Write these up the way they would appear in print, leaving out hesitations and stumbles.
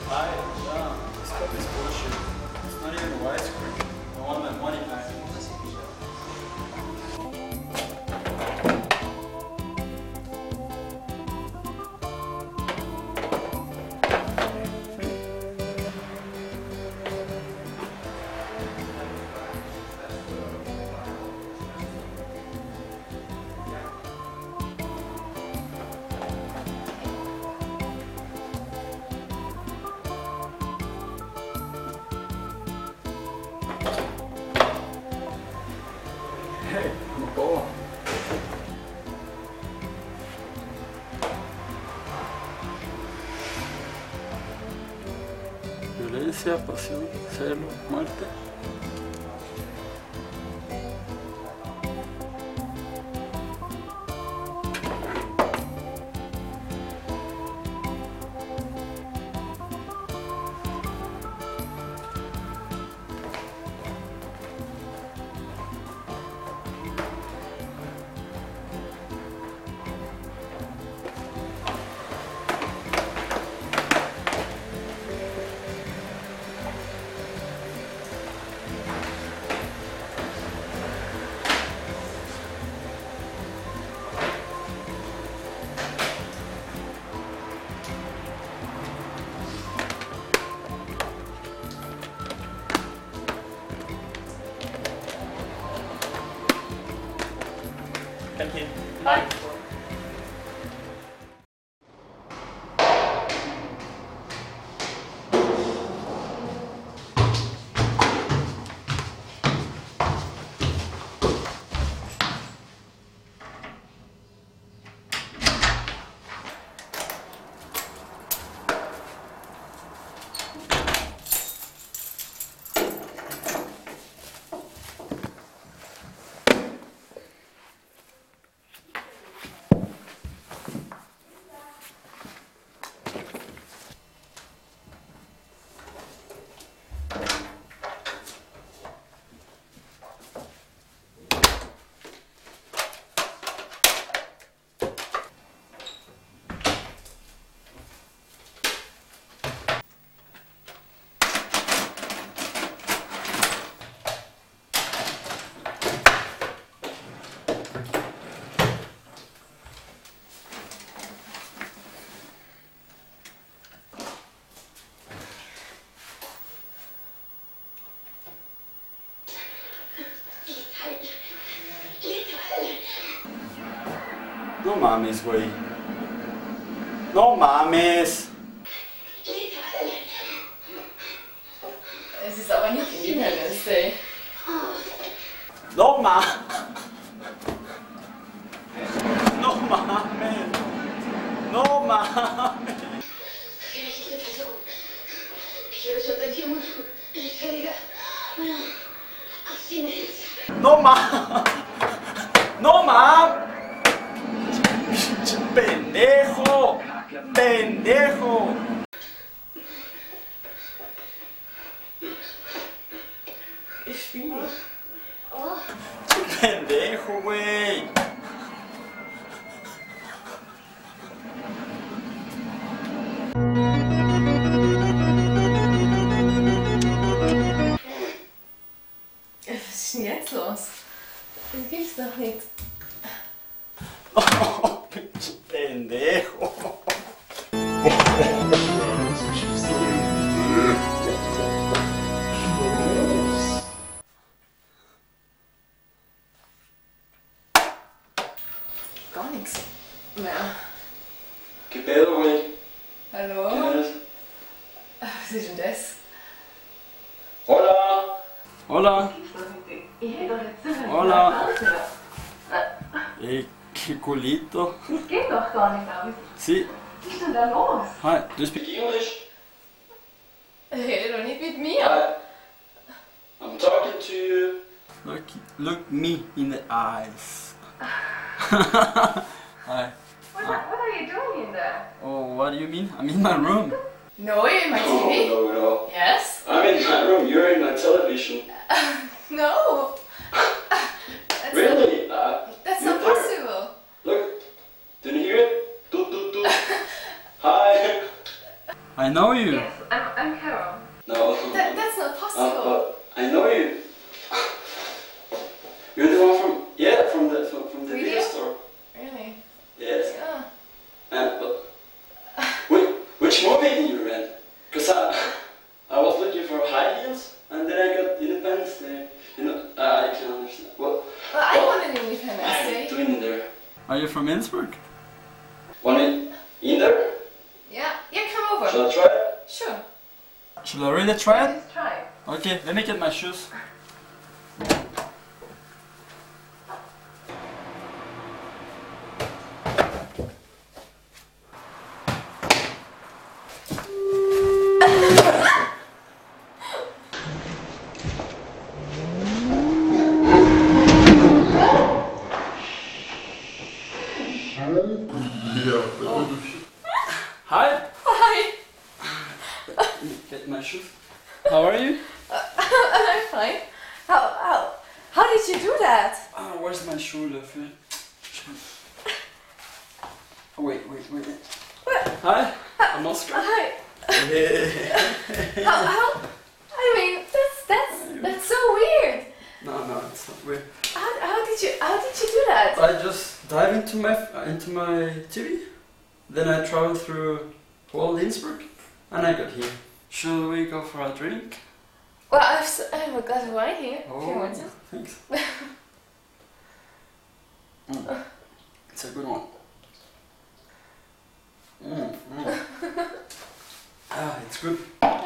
Hi, yeah, this cup is bullshit. It's not even widescreen. I want my money back. Hey, I'm a ball. Violencia, pasión, celo, muerte. Thank you. Bye. No mames, güey. No mames. Es ist aber nicht Hindernis, ey. No mames. No mames. No mames. No mames. No mames. Pendejo. Pendejo. Ich spiele. Pendejo, güey. Was ist denn jetzt los? Das gibt's doch nicht. Oh, pendejo. Gar nichts mehr. ¿Qué pedo, güey? Hallo? ¿Quién eres? Was ist denn das? Hola. Hola. Hola. ¿Qué culito? Das geht doch gar nicht, David. Sí. Was ist denn da los? Hi. Do you speak English? Rede doch nicht mit mir. Hi. I'm talking to you. Look me in the eyes. Hi. What are you doing in there? Oh, what do you mean? I'm in my room. No, you're in my TV. No. Yes? I'm in my room. You're in my television. No. That's Really? That's you're not there. possible. Look. Didn't you hear it? Toot toot toot. Hi. I know you. Yes. I'm Carol. No. That's not possible. But I know you. You're the one from the Video? video store. Really? Yes. Yeah. But which movie did you rent? Cause I was looking for high heels and then I got Independence Day. You know, I can understand. Well, I want an Independence Day. What are you doing there? Are you from Innsbruck? Want it in there? Yeah, come over. Shall I try it? Sure. Should I really try it? Let's try. Okay, let me get my shoes. Hi. Hi. Get my shoes. How are you? I'm fine. How did you do that? Where's my shoelöffel? Oh, wait. Hi, I'm Oscar. Hi. How? I mean, that's so weird. No, it's not weird. How did you do that? I just dive into my TV, then I traveled through whole Innsbruck, and I got here. Shall we go for a drink? Well, I've a glass of wine here. If you want to. Thanks. It's a good one. It's good.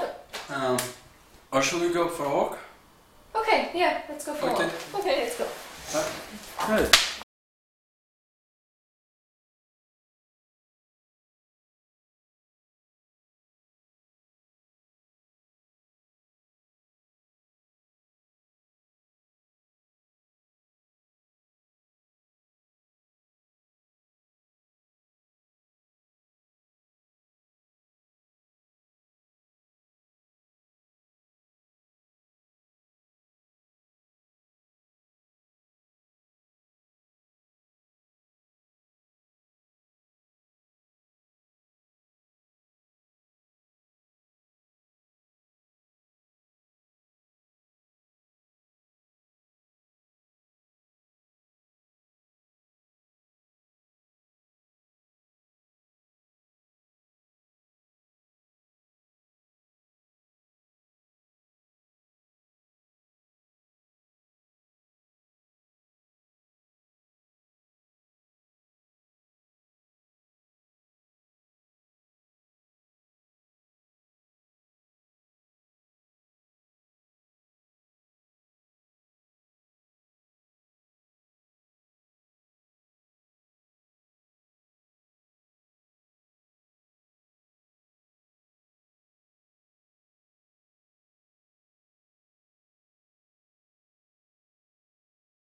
Or shall we go for a walk? Okay, yeah, let's go for a walk. Okay. Okay, let's go. Good.